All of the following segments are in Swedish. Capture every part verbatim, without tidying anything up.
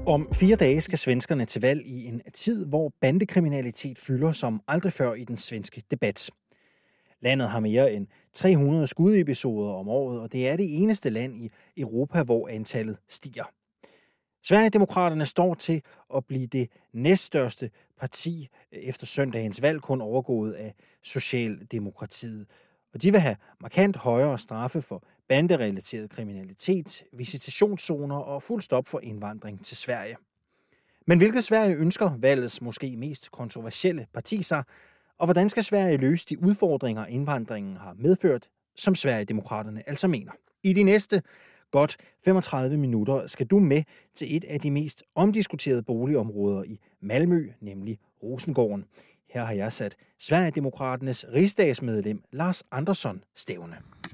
Om fire dage skal svenskerne til valg i en tid, hvor bandekriminalitet fylder som aldrig før i den svenske debat. Landet har mere end tre hundrede skudepisoder om året, og det er det eneste land i Europa, hvor antallet stiger. Sverigedemokraterne står til at blive det næststørste parti efter søndagens valg, kun overgået af Socialdemokratiet. Og de vil have markant højere straffe for banderelateret kriminalitet, visitationszoner og fuld stop for indvandring til Sverige. Men hvilket Sverige ønsker valgets måske mest kontroversielle parti sig, og hvordan skal Sverige løse de udfordringer, indvandringen har medført, som Sverigedemokraterne altså mener? I de næste godt femogtredive minutter skal du med til et af de mest omdiskuterede boligområder i Malmø, nemlig Rosengården. Her har jeg sat Sverigedemokraternes rigsdagsmedlem Lars Andersson stævne.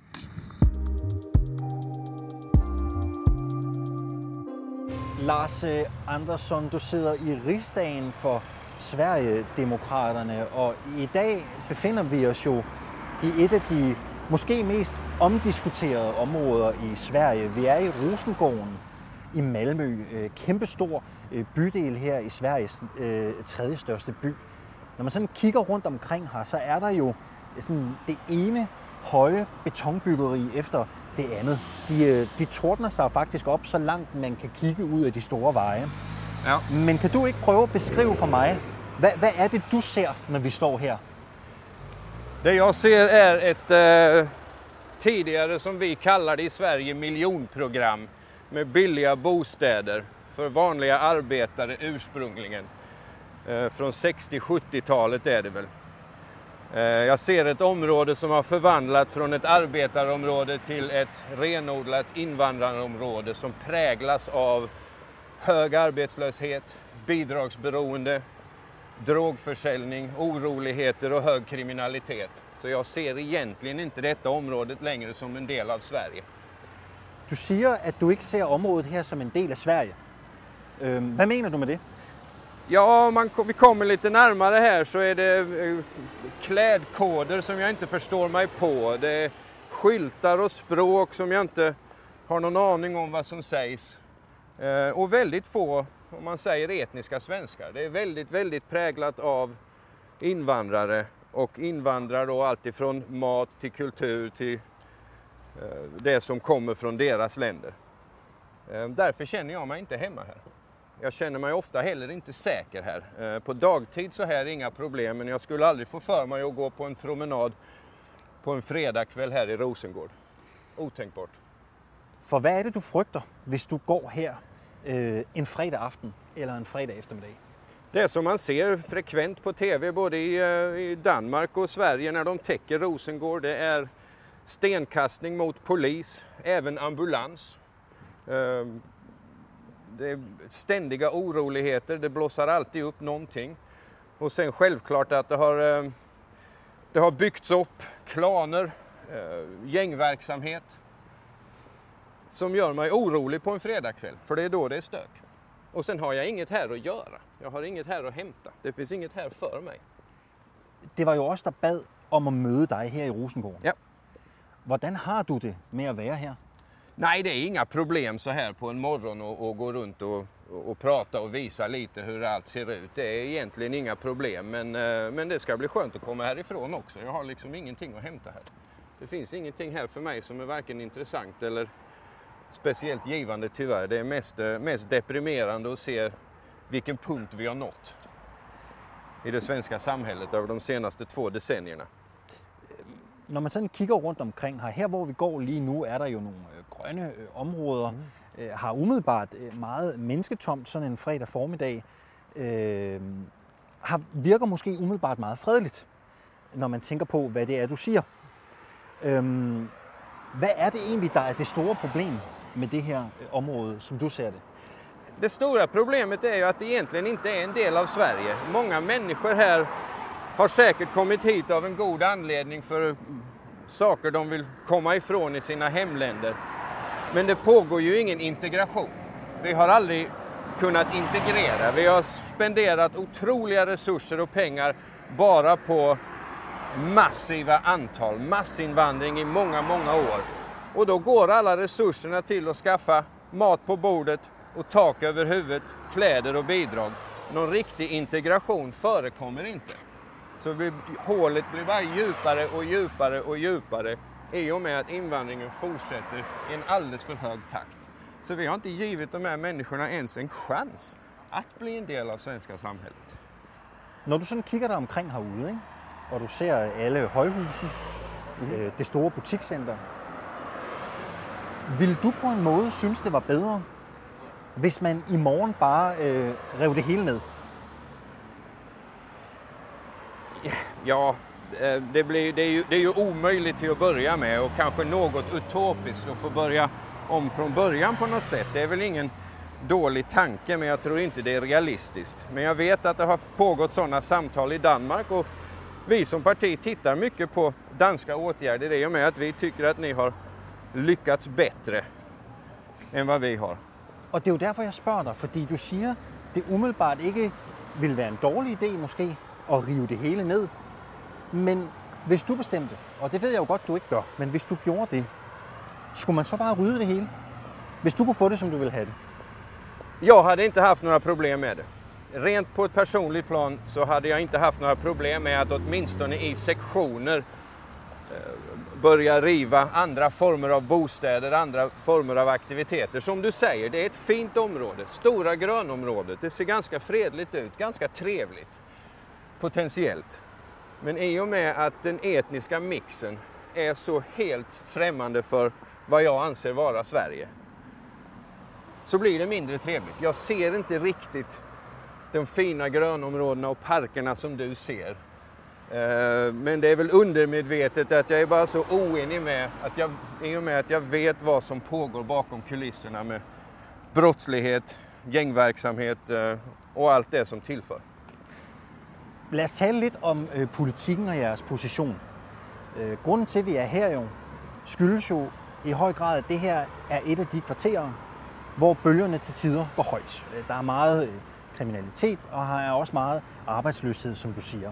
Lars Andersson, du sidder i rigsdagen for Sverigedemokraterne, og i dag befinder vi os jo i et af de måske mest omdiskuterede områder i Sverige. Vi er i Rosengården i Malmø, kæmpestor bydel her i Sveriges tredje største by. Når man sådan kigger rundt omkring her, så er der jo sådan det ene høje betonbyggeri efter det andet. De, de tordner sig faktisk op, så langt man kan kigge ud af de store veje. Ja. Men kan du ikke prøve at beskrive for mig, hvad, hvad er det, du ser, når vi står her? Det jag ser är ett eh, tidigare, som vi kallar det i Sverige, miljonprogram med billiga bostäder för vanliga arbetare ursprungligen. Eh, från sextio-sjuttiotalet är det väl. Eh, jag ser ett område som har förvandlat från ett arbetarområde till ett renodlat invandrarområde som präglas av hög arbetslöshet, bidragsberoende, drogförsäljning, oroligheter och hög kriminalitet. Så jag ser egentligen inte detta området längre som en del av Sverige. Du siger, at du ikke ser området her som en del af Sverige. Øhm, hvad mener du med det? Ja, man, vi kommer lite närmare här så är det klädkoder som jag inte förstår mig på. Det är skyltar och språk som jag inte har någon aning om vad som sägs. Eh, och väldigt få, om man säger, etniska svenskar. Det är väldigt, väldigt präglat av invandrare. Och invandrare då allt ifrån mat till kultur till eh, det som kommer från deras länder. Eh, därför känner jag mig inte hemma här. Jag känner mig ofta heller inte säker här. Eh, på dagtid så här är inga problem, men jag skulle aldrig få för mig att gå på en promenad på en fredagkväll här i Rosengård. Otänkbart. For hvad er det, du frygter, hvis du går her øh, en fredag aften eller en fredag eftermiddag? Det är som man ser frekvent på tv både i, i Danmark och Sverige när de täcker Rosengård. Det är stenkastning mot polis, även ambulans. Eh, det är ständiga oroligheter, det blåser alltid upp någonting. Och sen självklart att det har, eh, det har byggts upp klaner, eh, gängverksamhet. Som gör mig orolig på en fredagkväll, för det är då det är stök. Och sen har jag inget här att göra. Jag har inget här att hämta. Det finns inget här för mig. Det var jo også der bad om at møde dig her i Rosengården. Ja. Hvordan har du det med at være her? Nej, det är inga problem så här på en morgon och, och gå runt och, och, och prata och visa lite hur allt ser ut. Det är egentligen inga problem, men, men det ska bli skönt att komma härifrån också. Jag har liksom ingenting att hämta här. Det finns ingenting här för mig som är varken intressant eller speciellt givande tyvärr. Det är mest, mest deprimerande att se vilken punkt vi har nått i det svenska samhället över de senaste två decennierna. Når man sådan kigger rundt omkring her, her hvor vi går lige nu, er der jo nogle grønne områder, mm. øh, har umiddelbart meget mennesketomt sådan en fredag formiddag, øh, har, virker måske umiddelbart meget fredeligt, når man tænker på, hvad det er, du siger. Øh, hvad er det egentlig, der er det store problem med det her område, som du ser det? Det stora problemet är ju att det egentligen inte är en del av Sverige. Många människor här har säkert kommit hit av en god anledning för saker de vill komma ifrån i sina hemländer. Men det pågår ju ingen integration. Vi har aldrig kunnat integrera. Vi har spenderat otroliga resurser och pengar bara på massiva antal, massinvandring i många, många år. Och då går alla resurserna till att skaffa mat på bordet, och tak över huvudet, kläder och bidrag. Någon riktig integration förekommer inte. Så vi, hålet blir bara djupare och djupare och djupare i och med att invandringen fortsätter i en alldeles för hög takt. Så vi har inte givit de här människorna ens en chans att bli en del av svenska samhället. Når du sådan kigger dig omkring herude, ikke? Og du ser alle højhusene, mm-hmm. øh, det store butikscenter, vil du på en måde synes, det var bedre, hvis man i morgen bare øh, rev det hele ned? Ja, det, blir, det, är ju, det är ju omöjligt till att börja med och kanske något utopiskt att få börja om från början på något sätt. Det är väl ingen dålig tanke, men jag tror inte det är realistiskt. Men jag vet att det har pågått sådana samtal i Danmark och vi som parti tittar mycket på danska åtgärder i och med att vi tycker att ni har lyckats bättre än vad vi har. Og det er jo derfor, jeg spørger dig, fordi du siger, det umiddelbart ikke vil være en dårlig idé måske at rive det hele ned. Men hvis du bestemte, og det ved jeg jo godt, du ikke gør, men hvis du gjorde det, skulle man så bare rydde det hele? Hvis du kunne få det, som du ville have det? Jag hade inte haft några problem med det. Rent på ett personligt plan så hade jag inte haft några problem med att åtminstone i sektioner börja riva andra former av bostäder, andra former av aktiviteter. Som du säger, det är ett fint område, stora grönområdet. Det ser ganska fredligt ut, ganska trevligt, potentiellt. Men i och med att den etniska mixen är så helt främmande för vad jag anser vara Sverige, så blir det mindre trevligt. Jag ser inte riktigt de fina grönområdena och parkerna som du ser. Men det är väl undermedvetet att jag är bara så oenig med att jag, i och med att jag vet vad som pågår bakom kulisserna med brottslighet, gängverksamhet och allt det som tillför. Lad os tale lidt om øh, politikken og jeres position. Øh, grunden til, at vi er her jo, skyldes jo i høj grad, at det her er et af de kvarterer, hvor bølgerne til tider går højt. Der er meget øh, kriminalitet, og her er også meget arbejdsløshed, som du siger.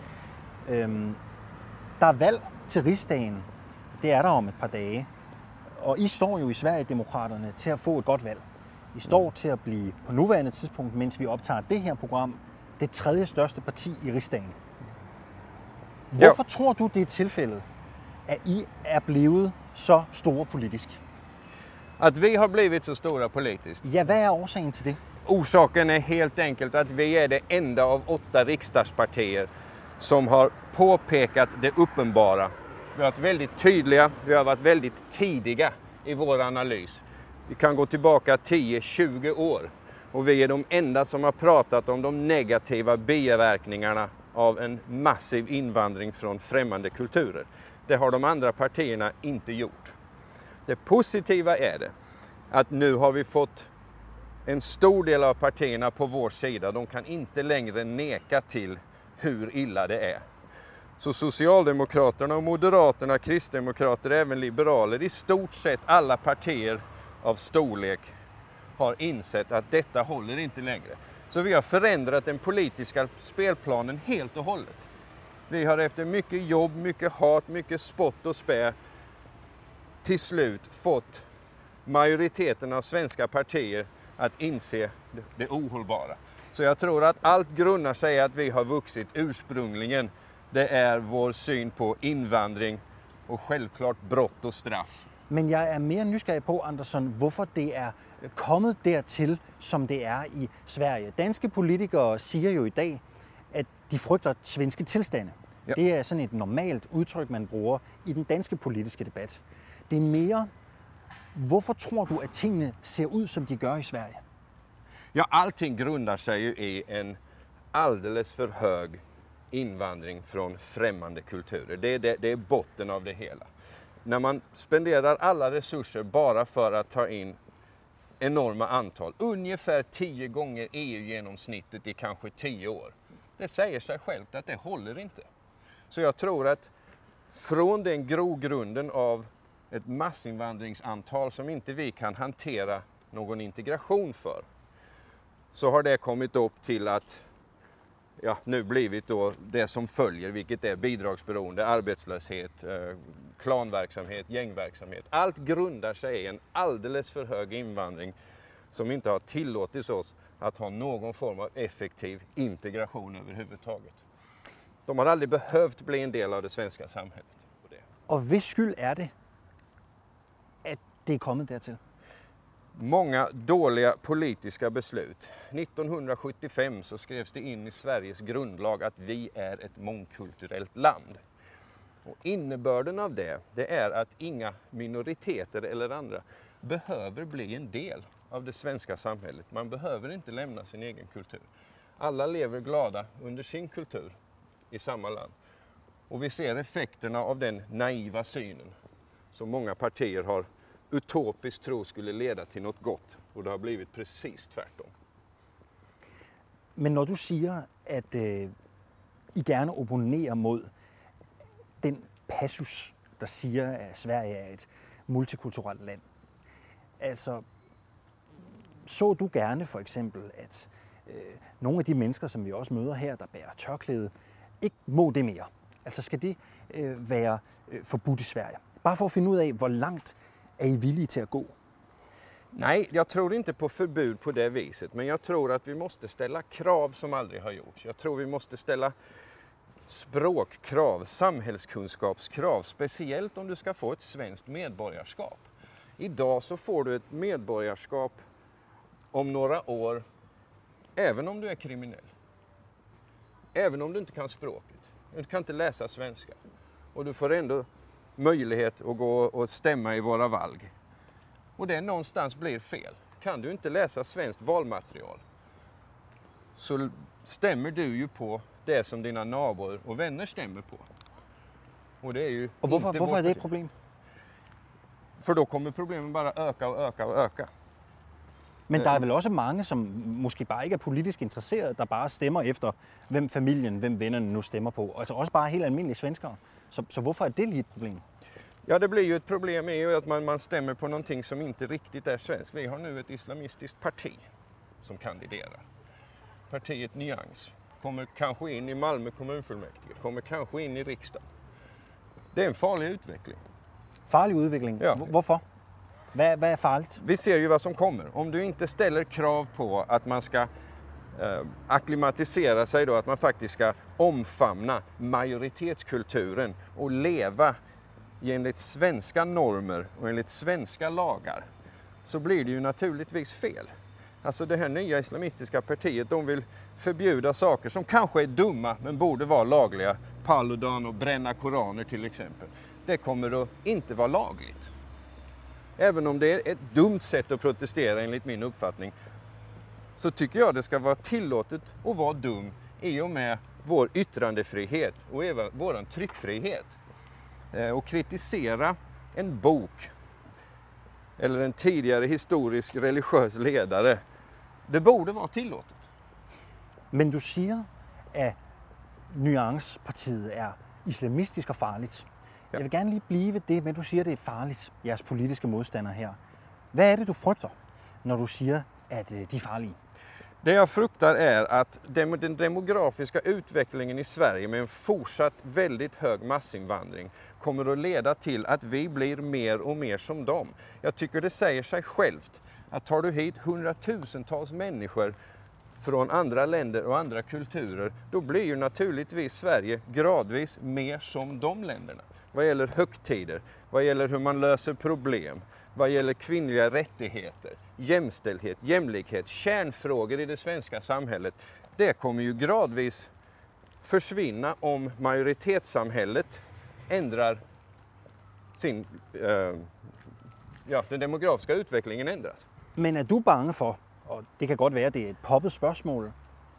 Øhm, der er valg til Rigsdagen. Det er der om et par dage. Og I står jo i Sverigedemokraterne til at få et godt valg. I står til at blive på nuværende tidspunkt, mens vi optager det her program, det tredje største parti i Rigsdagen. Hvorfor jo. tror du, det er tilfældet, at I er blevet så store politisk? Att vi har blivit så stora politiskt? Ja, vad är orsaken till det? Orsaken är helt enkelt att vi är det enda av åtta riksdagspartier som har påpekat det uppenbara. Vi har varit väldigt tydliga, vi har varit väldigt tidiga i vår analys. Vi kan gå tillbaka tio till tjugo år och vi är de enda som har pratat om de negativa biverkningarna av en massiv invandring från främmande kulturer. Det har de andra partierna inte gjort. Det positiva är det att nu har vi fått en stor del av partierna på vår sida. De kan inte längre neka till hur illa det är. Så Socialdemokraterna och Moderaterna, Kristdemokrater, även liberaler, i stort sett alla partier av storlek har insett att detta håller inte längre. Så vi har förändrat den politiska spelplanen helt och hållet. Vi har efter mycket jobb, mycket hat, mycket spott och spä till slut fått majoriteten av svenska partier att inse det ohållbara. Så jag tror att allt grundar sig att vi har vuxit ursprungligen. Det är vår syn på invandring och självklart brott och straff. Men jeg er mere nysgerrig på, Andersson, hvorfor det er kommet dertil, som det er i Sverige. Danske politikere siger jo i dag, at de frygter svenske tilstande. Ja. Det er sådan et normalt udtryk, man bruger i den danske politiske debat. Det er mere, hvorfor tror du, at tingene ser ud, som de gør i Sverige? Ja, allting grundar sig ju i en alldeles för hög invandring från främmande kulturer. Det är, det, det är botten av det hela. När man spenderar alla resurser bara för att ta in enorma antal, ungefär tio gånger E U-genomsnittet i kanske tio år. Det säger sig självt att det håller inte. Så jag tror att från den grogrunden av ett massinvandringsantal som inte vi kan hantera någon integration för, så har det kommit upp till att ja, nu blivit då det som följer, vilket är bidragsberoende, arbetslöshet, eh, klanverksamhet, gängverksamhet. Allt grundar sig i en alldeles för hög invandring som inte har tillåtit oss att ha någon form av effektiv integration överhuvudtaget. De har aldrig behövt bli en del av det svenska samhället. Och hvis skyld är det, att det är kommit därtill? Många dåliga politiska beslut. nittonhundrasjuttiofem så skrevs det in i Sveriges grundlag att vi är ett mångkulturellt land. Och innebörden av det, det är att inga minoriteter eller andra behöver bli en del av det svenska samhället. Man behöver inte lämna sin egen kultur. Alla lever glada under sin kultur i samma land. Och vi ser effekterna av den naiva synen som många partier har utopiskt tro skulle leda till något gott. Och det har blivit precis tvärtom. Men när du säger att eh, I gärna opponerar mot den passus, der siger, at Sverige er et multikulturelt land. Altså, så du gerne for eksempel, at øh, nogle af de mennesker, som vi også møder her, der bærer tørklæde, ikke må det mere? Altså, skal det øh, være øh, forbudt i Sverige? Bare for at finde ud af, hvor langt er I villige til at gå? Nej, jag tror inte på förbud på det viset, men jag tror att vi måste ställa krav som aldrig har gjorts. Jag tror vi måste ställa språkkrav, samhällskunskapskrav, speciellt om du ska få ett svenskt medborgarskap. Idag så får du ett medborgarskap om några år, även om du är kriminell. Även om du inte kan språket, du kan inte läsa svenska. Och du får ändå möjlighet att gå och stämma i våra valg. Och det någonstans blir fel. Kan du inte läsa svenskt valmaterial så stämmer du ju på det som dina nabor och vänner stämmer på. Och det är ju och varför, inte varför är det ett problem? För då kommer problemen bara öka och öka och öka. Men der er vel også mange, som måske bare ikke er politisk interesserede, der bare stemmer efter, hvem familien, hvem vennerne nu stemmer på. Altså også bare helt almindelige svenskere. Så, så hvorfor er det lige et problem? Ja, det blir ju ett problem är ju att man, man stämmer på någonting som inte riktigt är svenskt. Vi har nu ett islamistiskt parti som kandiderar. Partiet Nyans kommer kanske in i Malmö kommunfullmäktige, kommer kanske in i riksdagen. Det är en farlig utveckling. Farlig udvikling? Ja. Hvorfor? Hvad, hvad er farligt? Vi ser ju vad som kommer. Om du inte ställer krav på att man ska eh, akklimatisera sig då, att man faktiskt ska omfamna majoritetskulturen och leva enligt svenska normer och enligt svenska lagar, så blir det ju naturligtvis fel. Alltså det här nya islamistiska partiet, de vill förbjuda saker som kanske är dumma men borde vara lagliga. Paludan och bränna koraner till exempel. Det kommer att inte vara lagligt. Även om det är ett dumt sätt att protestera enligt min uppfattning, så tycker jag det ska vara tillåtet att vara dum i och med vår yttrandefrihet och även vår tryckfrihet. Och kritisera en bok eller en tidigare historisk religiös ledare, det borde vara tillåtet. Men du siger, at Nuance-partiet er islamistisk og farligt. Ja. Jeg vil gerne lige blive ved det, men du siger, det er farligt, jeres politiske modstandere her. Hvad er det, du frygter, når du siger, at de er farlige? Det jag fruktar är att den demografiska utvecklingen i Sverige med en fortsatt väldigt hög massinvandring kommer att leda till att vi blir mer och mer som dem. Jag tycker det säger sig självt att tar du hit hundratusentals människor från andra länder och andra kulturer, då blir ju naturligtvis Sverige gradvis mer som de länderna. Vad gäller högtider, vad gäller hur man löser problem, vad gäller kvinnliga rättigheter, jämställdhet, jämlikhet, kärnfrågor i det svenska samhället. Det kommer ju gradvis försvinna om majoritetssamhället ändrar sin, eh, ja, den demografiska utvecklingen ändras. Men er du bange for, og det kan godt være, det er et poppet spørgsmål,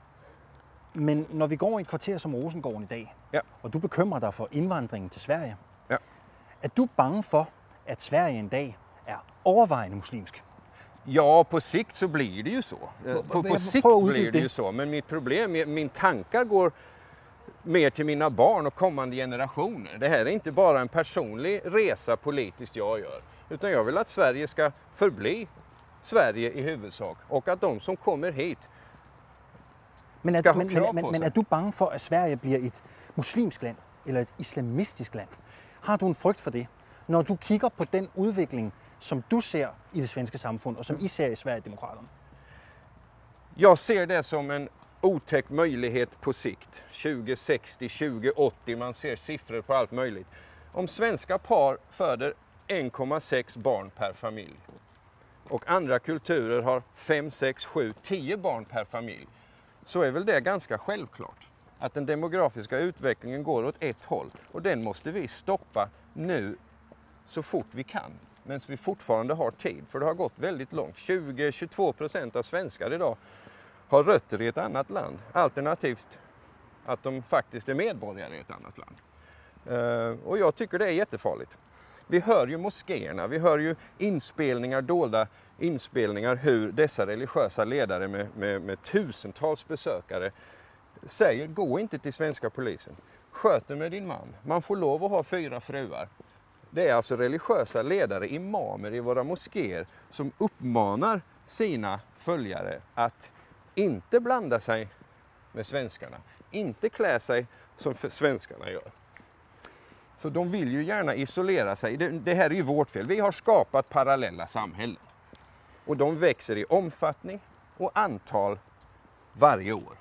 men når vi går i et kvarter som Rosengården i dag, ja. og du bekymrer dig for indvandringen til Sverige, ja. er du bange for, at Sverige en dag er overvejende muslimsk? Ja, på sikt så blir det ju så. På, på sikt blir det ju så. Men mitt problem, min tankar går mer till mina barn och kommande generationer. Det här är inte bara en personlig resa politiskt jag gör, utan jag vill att Sverige ska förbli Sverige i huvudsak och att de som kommer hit men er, ska ha men, krav men, på men, sig. men er du bange for, at Sverige bliver et muslimsk land eller et islamistisk land? Har du en frygt for det? når du kigger på den udvikling, som du ser i det svenska samfund och som I ser i Sverigedemokraterna? Jag ser det som en otäck möjlighet på sikt. tjugo sextio, tjugo åttio, man ser siffror på allt möjligt. Om svenska par föder en komma sex barn per familj och andra kulturer har fem, sex, sju, tio barn per familj, så är väl det ganska självklart att den demografiska utvecklingen går åt ett håll, och den måste vi stoppa nu så fort vi kan, medan vi fortfarande har tid, för det har gått väldigt långt. tjugo till tjugotvå procent av svenskar idag har rötter i ett annat land, alternativt att de faktiskt är medborgare i ett annat land. Uh, och jag tycker det är jättefarligt. Vi hör ju moskéerna, vi hör ju inspelningar, dolda inspelningar, hur dessa religiösa ledare med, med, med tusentals besökare säger: gå inte till svenska polisen, sköt med din man, man får lov att ha fyra fruar. Det är alltså religiösa ledare, imamer i våra moskéer, som uppmanar sina följare att inte blanda sig med svenskarna, inte klä sig som svenskarna gör. Så de vill ju gärna isolera sig. Det, det här är ju vårt fel. Vi har skapat parallella samhällen. Och de växer i omfattning och antal varje år.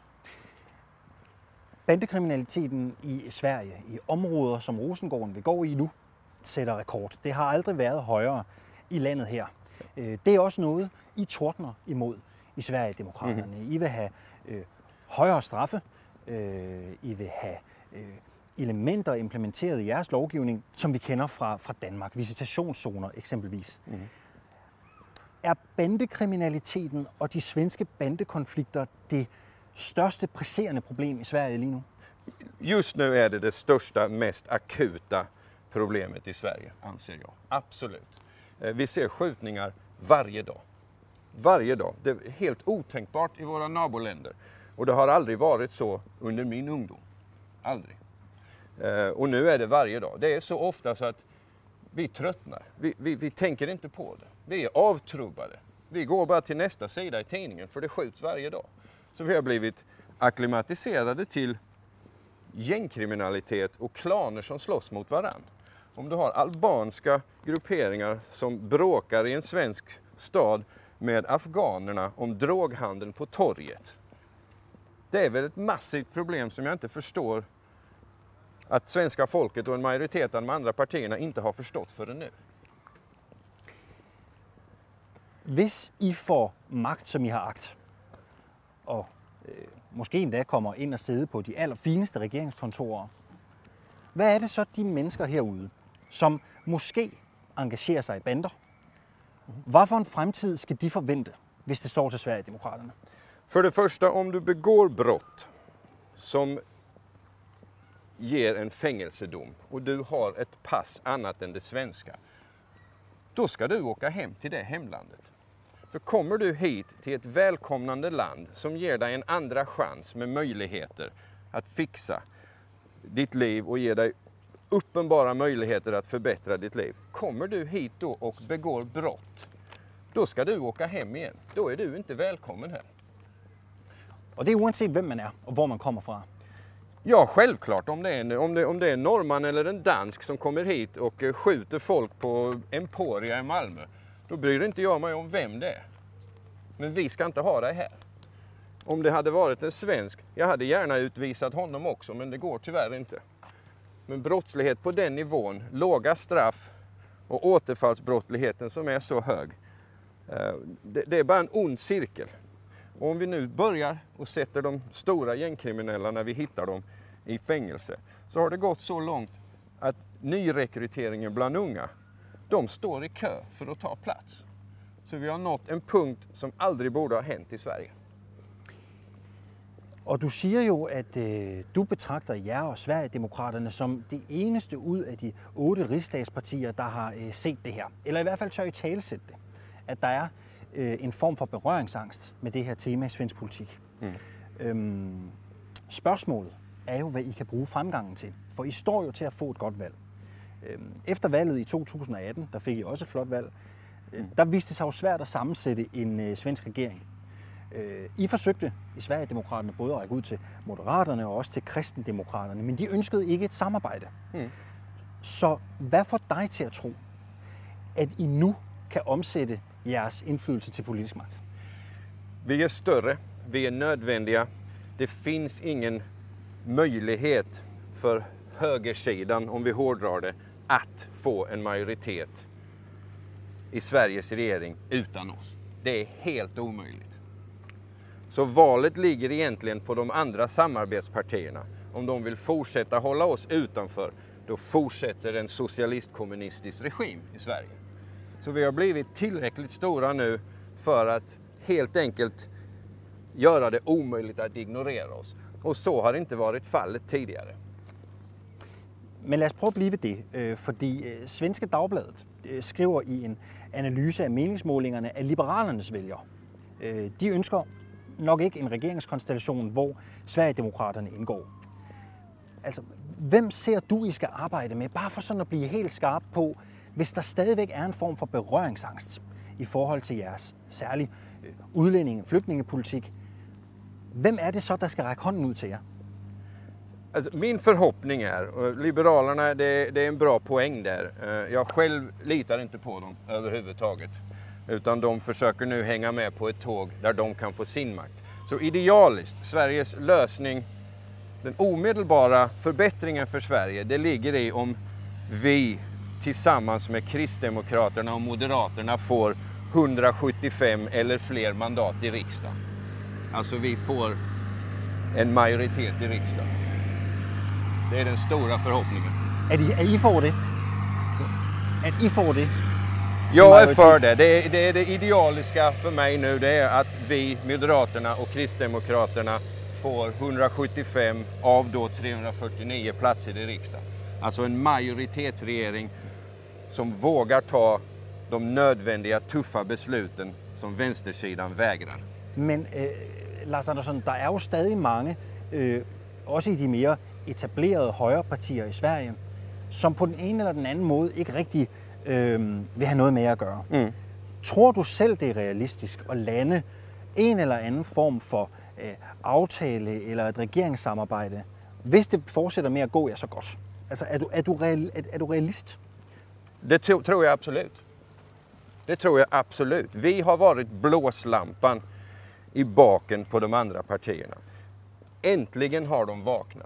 Bandekriminaliteten i Sverige, i områder som Rosengården vi går i nu, sætter rekord. Det har aldrig været højere i landet her. Det er også noget, I tordner imod i Sverigedemokraterne. Mm-hmm. I vil have øh, højere straffe. Øh, I vil have øh, elementer implementeret i jeres lovgivning, som vi kender fra, fra Danmark. Visitationszoner eksempelvis. Mm-hmm. Er bandekriminaliteten og de svenske bandekonflikter det største presserende problem i Sverige lige nu? Just nu är det det största, mest akuta problemet i Sverige, anser jag. Absolut. Vi ser skjutningar varje dag. Varje dag. Det är helt otänkbart i våra naboländer. Och det har aldrig varit så under min ungdom. Aldrig. Och nu är det varje dag. Det är så ofta så att vi tröttnar. Vi, vi, vi tänker inte på det. Vi är avtrubbade. Vi går bara till nästa sida i tidningen, för det skjuts varje dag. Så vi har blivit akklimatiserade till gängkriminalitet och klaner som slåss mot varann. Om du har albanska grupperingar som bråkar i en svensk stad med afghanerna om droghandeln på torget. Det är väl ett massivt problem som jag inte förstår att svenska folket och en majoritet av de andra partierna inte har förstått förrän nu. Hvis I får magt, som I har agt, og øh, måske endda kommer ind og sidde på de allerfineste regeringskontorer, hvad er det så de mennesker herude, som måske engagerer sig i bander? Hvad for en fremtid skal de forvente, hvis det står til Sverigedemokraterne? För det första, om du begår brott som ger en fängelsedom och du har ett pass annat än det svenska, då ska du åka hem till det hemlandet. För kommer du hit till ett välkomnande land som ger dig en andra chans med möjligheter att fixa ditt liv och ger dig uppenbara möjligheter att förbättra ditt liv. Kommer du hit då och begår brott, då ska du åka hem igen. Då är du inte välkommen här. Och det är oavsett vem man är och var man kommer fra. Ja, självklart. Om det är en, om det, om det är en norrman eller en dansk som kommer hit och skjuter folk på Emporia i Malmö, då bryr inte jag mig om vem det är. Men vi ska inte ha det här. Om det hade varit en svensk, jag hade gärna utvisat honom också, men det går tyvärr inte. Men brottslighet på den nivån, låga straff och återfallsbrottsligheten som är så hög, det, det är bara en ond cirkel. Och om vi nu börjar och sätter de stora gängkriminella när vi hittar dem i fängelse, så har det gått så långt att nyrekryteringen bland unga, de står i kö för att ta plats. Så vi har nått en punkt som aldrig borde ha hänt i Sverige. Og du siger jo, at øh, du betragter jer og Sverigedemokraterne som det eneste ud af de otte rigsdagspartier, der har øh, set det her. Eller i hvert fald tør I talesætte det. At der er øh, en form for berøringsangst med det her tema i svensk politik. Mm. Øhm, spørgsmålet er jo, hvad I kan bruge fremgangen til. For I står jo til at få et godt valg. Øhm, efter valget i to tusind og atten, der fik I også et flot valg, øh, der viste det sig jo svært at sammensætte en øh, svensk regering. I forsøgte i Sverigedemokraterne både at række ud til Moderaterne og også til Kristendemokraterne, men de ønskede ikke et samarbejde. Mm. Så hvad får dig til at tro, at I nu kan omsætte jeres indflydelse till politisk makt? Vi är större, vi är nödvändiga. Det finns ingen möjlighet för högersidan, om vi hårdrar det, att få en majoritet i Sveriges regering utan oss. Det är helt omöjligt. Så valet ligger egentligen på de andra samarbetspartierna. Om de vill fortsätta hålla oss utanför, då fortsätter en socialistkommunistisk regim i Sverige. Så vi har blivit tillräckligt stora nu för att helt enkelt göra det omöjligt att ignorera oss. Och så har inte varit fallet tidigare. Men lad os prøve at blive ved det, fordi Svenska Dagbladet skriver i en analyse af meningsmålingerne af liberalernes vælgere. De ønsker nok ikke en regeringskonstellation, hvor Sverigedemokraterne indgår. Altså, hvem ser du, I skal arbejde med, bare for sådan at blive helt skarp på, hvis der stadigvæk er en form for berøringsangst i forhold til jeres særlige udlændinge- flygtningepolitik? Hvem är det så, der skal række hånden ud til jer? Alltså, min förhoppning är, och Liberalerna, det, det är en bra poäng där. Jag själv litar inte på dem överhuvudtaget. Utan de försöker nu hänga med på ett tåg där de kan få sin makt. Så idealiskt, Sveriges lösning, den omedelbara förbättringen för Sverige, det ligger i om vi tillsammans med Kristdemokraterna och Moderaterna får hundrasjuttiofem eller fler mandat i riksdagen. Alltså vi får en majoritet i riksdagen. Det är den stora förhoppningen. Att I, att I får det? Att I får det? Jag är för det. Det är, det är det idealiska för mig nu. Det är att vi, Moderaterna och Kristdemokraterna, får hundrasjuttiofem av då trehundrafyrtionio platser i riksdagen. Alltså en majoritetsregering som vågar ta de nödvändiga tuffa besluten som vänstersidan vägrar. Men øh, Lars Andersson, der er jo stadig mange, øh, også i de mere etablerede højrepartier i Sverige, som på den ene eller den anden måde ikke rigtig øh, vil have noget med at gøre. Mm. Tror du selv, det er realistisk at lande en eller anden form for øh, aftale eller et regeringssamarbejde, hvis det fortsætter med at gå, ja, så godt? Altså, er du, er du, real, er, er du realist? Det to- tror jag absolut. Det tror jag absolut. Vi har varit blåslampan i baken på de andra partierna. Äntligen har de vaknat.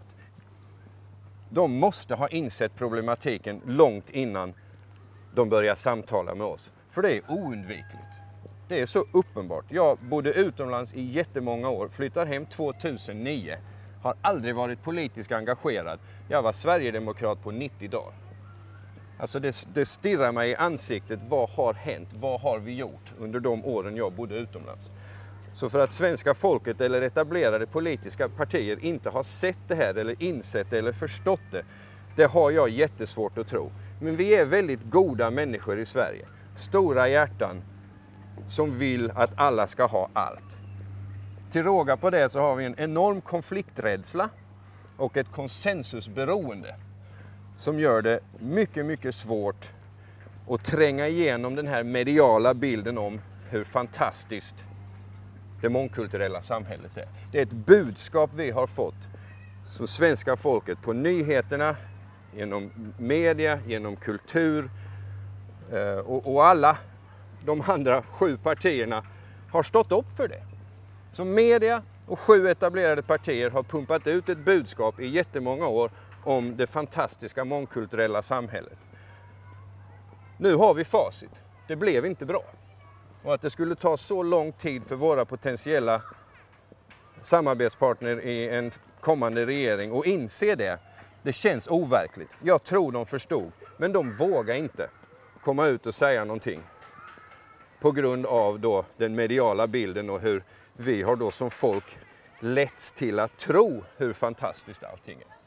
De måste ha insett problematiken långt innan de börjar samtala med oss. För det är oundvikligt. Det är så uppenbart. Jag bodde utomlands i jättemånga år, flyttar hem tvåtusennio. Har aldrig varit politiskt engagerad. Jag var Sverigedemokrat på nittio dagar. Alltså det, det stirrar mig i ansiktet. Vad har hänt? Vad har vi gjort under de åren jag bodde utomlands? Så för att svenska folket eller etablerade politiska partier inte har sett det här eller insett det eller förstått det, det har jag jättesvårt att tro. Men vi är väldigt goda människor i Sverige. Stora hjärtan som vill att alla ska ha allt. Till råga på det så har vi en enorm konflikträdsla och ett konsensusberoende som gör det mycket, mycket svårt att tränga igenom den här mediala bilden om hur fantastiskt det mångkulturella samhället är. Det är ett budskap vi har fått som svenska folket på nyheterna, genom media, genom kultur och, och alla de andra sju partierna har stått upp för det. Så media och sju etablerade partier har pumpat ut ett budskap i jättemånga år om det fantastiska mångkulturella samhället. Nu har vi facit. Det blev inte bra. Och att det skulle ta så lång tid för våra potentiella samarbetspartner i en kommande regering och inse det, det känns overkligt. Jag tror de förstod, men de vågar inte komma ut och säga någonting på grund av då den mediala bilden och hur vi har då som folk letts till att tro hur fantastiskt allting är.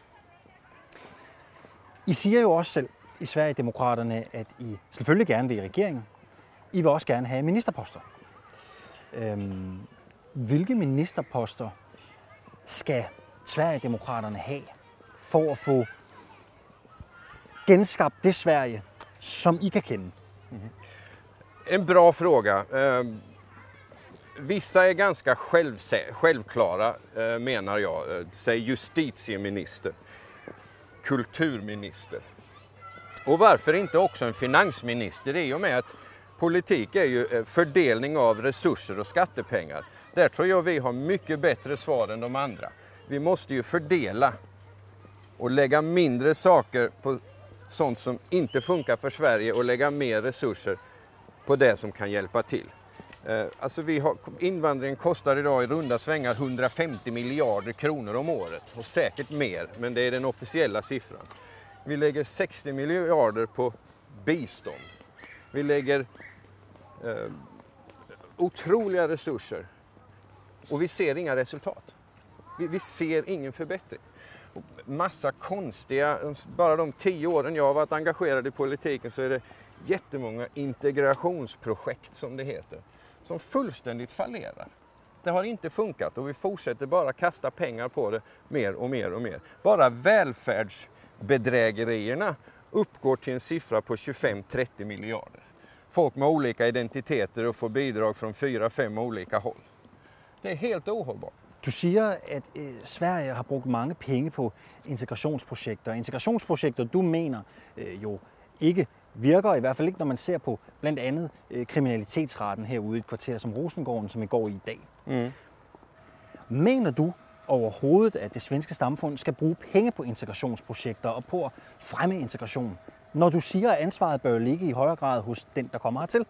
I siger jo også selv i Sverigedemokraterne, at I selvfølgelig gerne vil i regeringen. I vil også gerne have ministerposter. Øhm, hvilke ministerposter skal Sverigedemokraterne have for at få genskabt det Sverige, som I kan kende? Mm-hmm. En bra fråga. Um, vissa är ganska själv, självklara, uh, menar jag. Uh, säg justitieminister, kulturminister, Och varför inte också en finansminister, i och med att politik är ju fördelning av resurser och skattepengar. Där tror jag vi har mycket bättre svar än de andra. Vi måste ju fördela och lägga mindre saker på sånt som inte funkar för Sverige och lägga mer resurser på det som kan hjälpa till. Alltså vi har, invandringen kostar idag i runda svängar hundrafemtio miljarder kronor om året och säkert mer, men det är den officiella siffran. Vi lägger sextio miljarder på bistånd. Vi lägger eh, otroliga resurser och vi ser inga resultat. Vi, vi ser ingen förbättring. Massa konstiga, bara de tio åren jag har varit engagerad i politiken så är det jättemånga integrationsprojekt som det heter, som fullständigt fallerar. Det har inte funkat och vi fortsätter bara kasta pengar på det mer och mer och mer. Bara välfärdsbedrägerierna uppgår till en siffra på tjugofem till trettio miljarder. Folk med olika identiteter och får bidrag från fyra, fem olika håll. Det är helt ohållbart. Du siger, at øh, Sverige har brugt mange penge på integrationsprojekter. Integrationsprojekter, du mener øh, jo ikke virker, i hvert fald ikke, når man ser på blandt andet øh, kriminalitetsraten herude i et kvarter som Rosengården, som I går i i dag. Mm. Mener du overhovedet, at det svenske samfund skal bruge penge på integrationsprojekter og på at fremme integration, når du siger, at ansvaret bør ligge i højere grad hos den, der kommer hertil?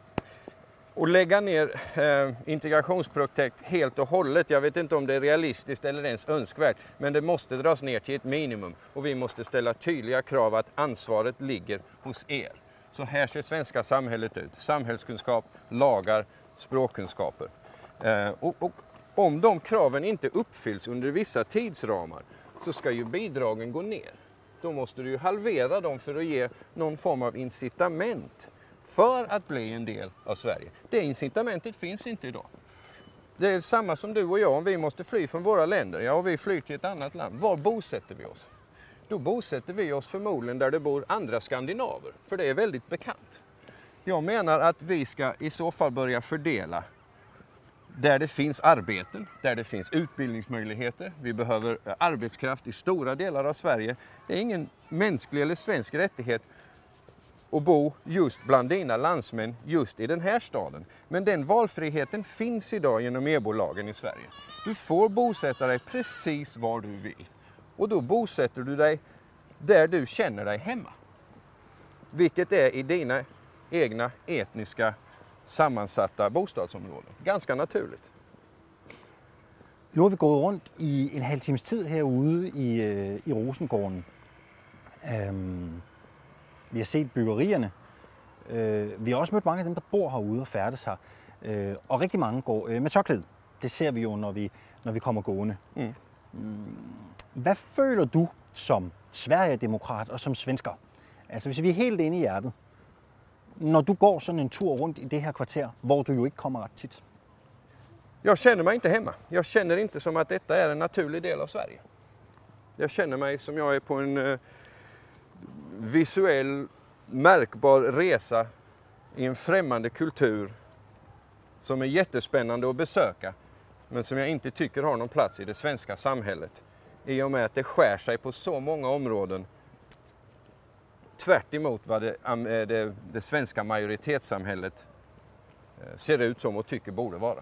Och lägga ner eh, integrationsprojekt helt och hållet, jag vet inte om det är realistiskt eller ens önskvärt, men det måste dras ner till ett minimum och vi måste ställa tydliga krav att ansvaret ligger hos er. Så här ser svenska samhället ut. Samhällskunskap, lagar, språkkunskaper. Eh, och, och om de kraven inte uppfylls under vissa tidsramar så ska ju bidragen gå ner. Då måste du ju halvera dem för att ge någon form av incitament för att bli en del av Sverige. Det incitamentet finns inte idag. Det är samma som du och jag, om vi måste fly från våra länder, ja, och vi flyr till ett annat land. Var bosätter vi oss? Då bosätter vi oss förmodligen där det bor andra skandinaver, för det är väldigt bekant. Jag menar att vi ska i så fall börja fördela där det finns arbeten, där det finns utbildningsmöjligheter. Vi behöver arbetskraft i stora delar av Sverige. Det är ingen mänsklig eller svensk rättighet och bo just bland dina landsmän just i den här staden. Men den valfriheten finns idag genom E B O-lagen i Sverige. Du får bosätta dig precis var du vill. Och då bosätter du dig där du känner dig hemma. Vilket är i dina egna etniska sammansatta bostadsområden. Ganska naturligt. Nu har vi gået rundt i en halv times tid herude i, i Rosengården. Øhm, vi har set byggerierne. Øh, vi har også mødt mange af dem, der bor herude og færdes her. Øh, og rigtig mange går øh, med tørklæde. Det ser vi jo, når vi, når vi kommer gående. Mm. Hvad føler du som Sverigedemokrat og som svensker? Altså hvis vi er helt inde i hjertet. När du går sådan en tur runt i det här kvarter, var du ju inte kommer rätt tit? Jag känner mig inte hemma. Jag känner inte som att detta är en naturlig del av Sverige. Jag känner mig som jag är på en eh, visuell, märkbar resa i en främmande kultur som är jättespännande att besöka, men som jag inte tycker har någon plats i det svenska samhället. I och med att det skär sig på så många områden tvärt emot vad det, det, det svenska majoritetssamhället ser ut som och tycker borde vara.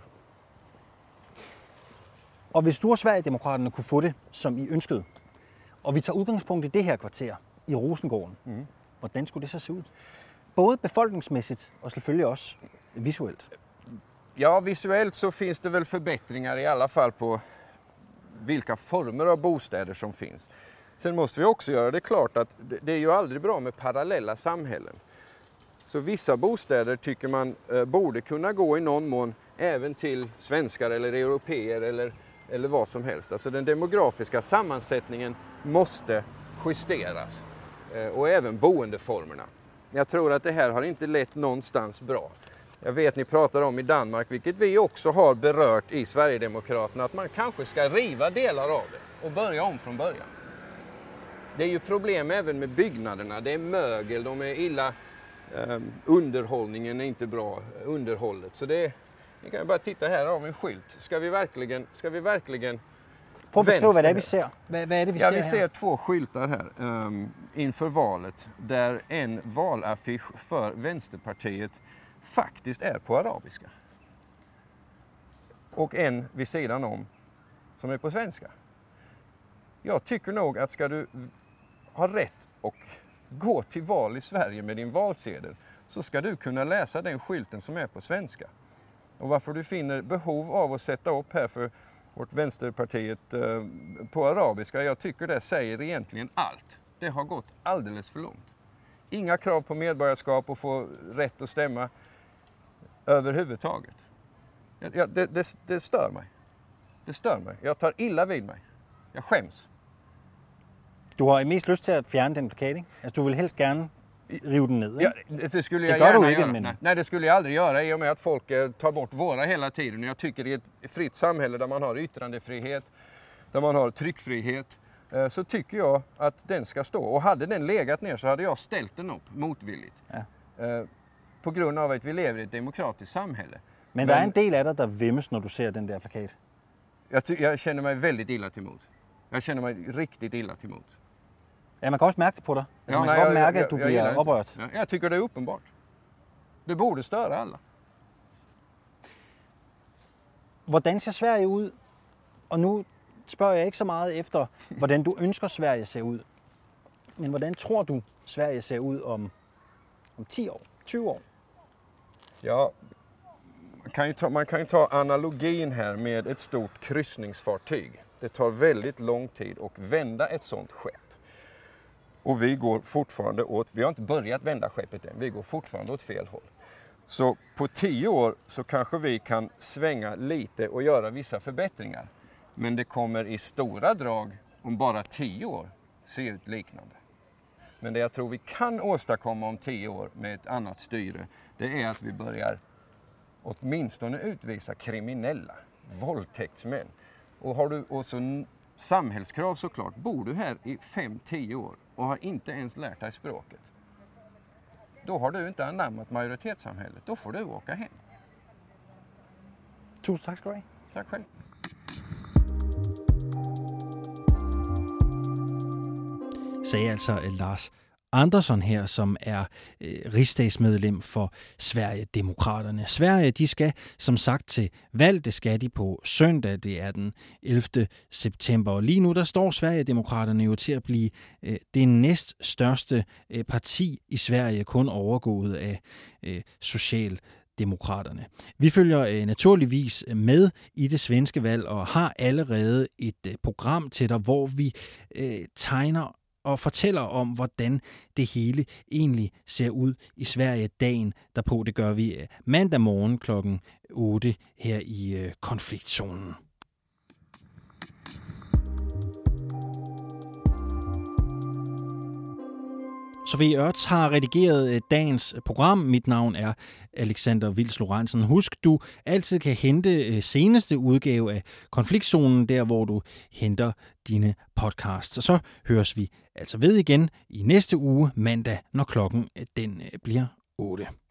Og hvis du og Sverigedemokraterne kunne få det, som I ønskede, og vi tager udgangspunkt i det her kvarter, i Rosengården, mm. hvordan skulle det så se ud? Både befolkningsmæssigt og selvfølgelig også visuelt. Ja, visuellt så finns det väl förbättringar i alla fall på vilka former av bostäder som finns. Sen måste vi också göra det klart att det är ju aldrig bra med parallella samhällen. Så vissa bostäder tycker man eh, borde kunna gå i någon mån även till svenskar eller europeer eller, eller vad som helst. Alltså den demografiska sammansättningen måste justeras eh, och även boendeformerna. Jag tror att det här har inte lett någonstans bra. Jag vet ni pratar om i Danmark, vilket vi också har berört i Sverigedemokraterna, att man kanske ska riva delar av det och börja om från början. Det är ju problem även med byggnaderna. Det är mögel, de är illa, eh, underhållningen är inte bra, underhållet. Så det är, ni kan ju bara titta här av en skylt. Ska vi verkligen, ska vi verkligen prøv at beskrive, hvad det er, vi ser. Hvad, hvad er det, vi ja, ser vi her? ser två skyltar här um, inför valet där en valaffisch för Vänsterpartiet faktiskt är på arabiska. Och en vid sidan om som är på svenska. Jag tycker nog att ska du ha rätt och gå till val i Sverige med din valsedel så ska du kunna läsa den skylten som är på svenska. Och varför du finner behov av att sätta upp här för vårt Vänsterpartiet eh, på arabiska, jag tycker det säger egentligen allt. Det har gått alldeles för långt. Inga krav på medborgarskap och få rätt att stämma överhuvudtaget. Ja, det, det, det stör mig. Det stör mig. Jag tar illa vid mig. Jag skäms. Du har mest lyst til at fjerne den plakat, ikke? Altså, du vil helst gerne rive den ned, ja, det skulle jag det gärna du ikke, göra. men... Nej, nej, det skulle jag aldrig göra i och med att folk eh, tar bort våra hela tiden. Jag tycker i ett fritt samhälle där man har yttrandefrihet, där man har tryckfrihet, eh, så tycker jag att den ska stå. Och hade den legat ner så hade jag ställt den upp motvilligt. Ja. Eh, på grund av att vi lever i ett demokratiskt samhälle. Men, men der er en del af dig, der vimmes, når du ser den der plakat. Jag, ty- jag känner mig väldigt illa till mod. Jag känner mig riktigt illa till mod. Ja, man kan også mærke det på dig. Altså, Ja, man nej, kan godt jag, mærke, jag, at du jag bliver gillar inte. oprørt. Ja, jag tycker det är uppenbart. Det borde störa alla. Hvordan ser Sverige ud? Og nu spørger jeg ikke så meget efter, hvordan du ønsker Sverige ser ud. Men hvordan tror du, Sverige ser ud om, om ti år, tyve år? Ja, man kan, ju ta, man kan ju ta analogin här med ett stort kryssningsfartyg. Det tar väldigt lång tid att vända ett sånt skepp. Och vi går fortfarande åt, vi har inte börjat vända skeppet än, vi går fortfarande åt fel håll. Så på tio år så kanske vi kan svänga lite och göra vissa förbättringar. Men det kommer i stora drag om bara tio år se ut liknande. Men det jag tror vi kan åstadkomma om tio år med ett annat styre, det är att vi börjar åtminstone utvisa kriminella, våldtäktsmän. Och har du också samhällskrav såklart, bor du här i fem tio år och har inte ens lärt dig språket. Då har du inte anammat majoritetssamhället, då får du åka hem. Tusind tak skal du have. Tack själv. Sagde altså Lars Andersson her, som er øh, rigsdagsmedlem for Sverigedemokraterne. Sverige, de skal som sagt til valg. Det skal de på søndag. Det er den ellevte september. Og lige nu, der står Sverigedemokraterne jo til at blive øh, det næststørste øh, parti i Sverige, kun overgået af øh, Socialdemokraterne. Vi følger øh, naturligvis med i det svenske valg og har allerede et øh, program til dig, hvor vi øh, tegner og fortæller om, hvordan det hele egentlig ser ud i Sverige dagen derpå. Det gør vi mandag morgen klokken otte her i konfliktzonen. Sofie Ørts har redigeret dagens program. Mit navn er Alexander Vils Lorentzen. Husk, du altid kan hente seneste udgave af Konfliktzonen, der hvor du henter dine podcasts. Og så høres vi altså ved igen i næste uge mandag, når klokken den bliver otte.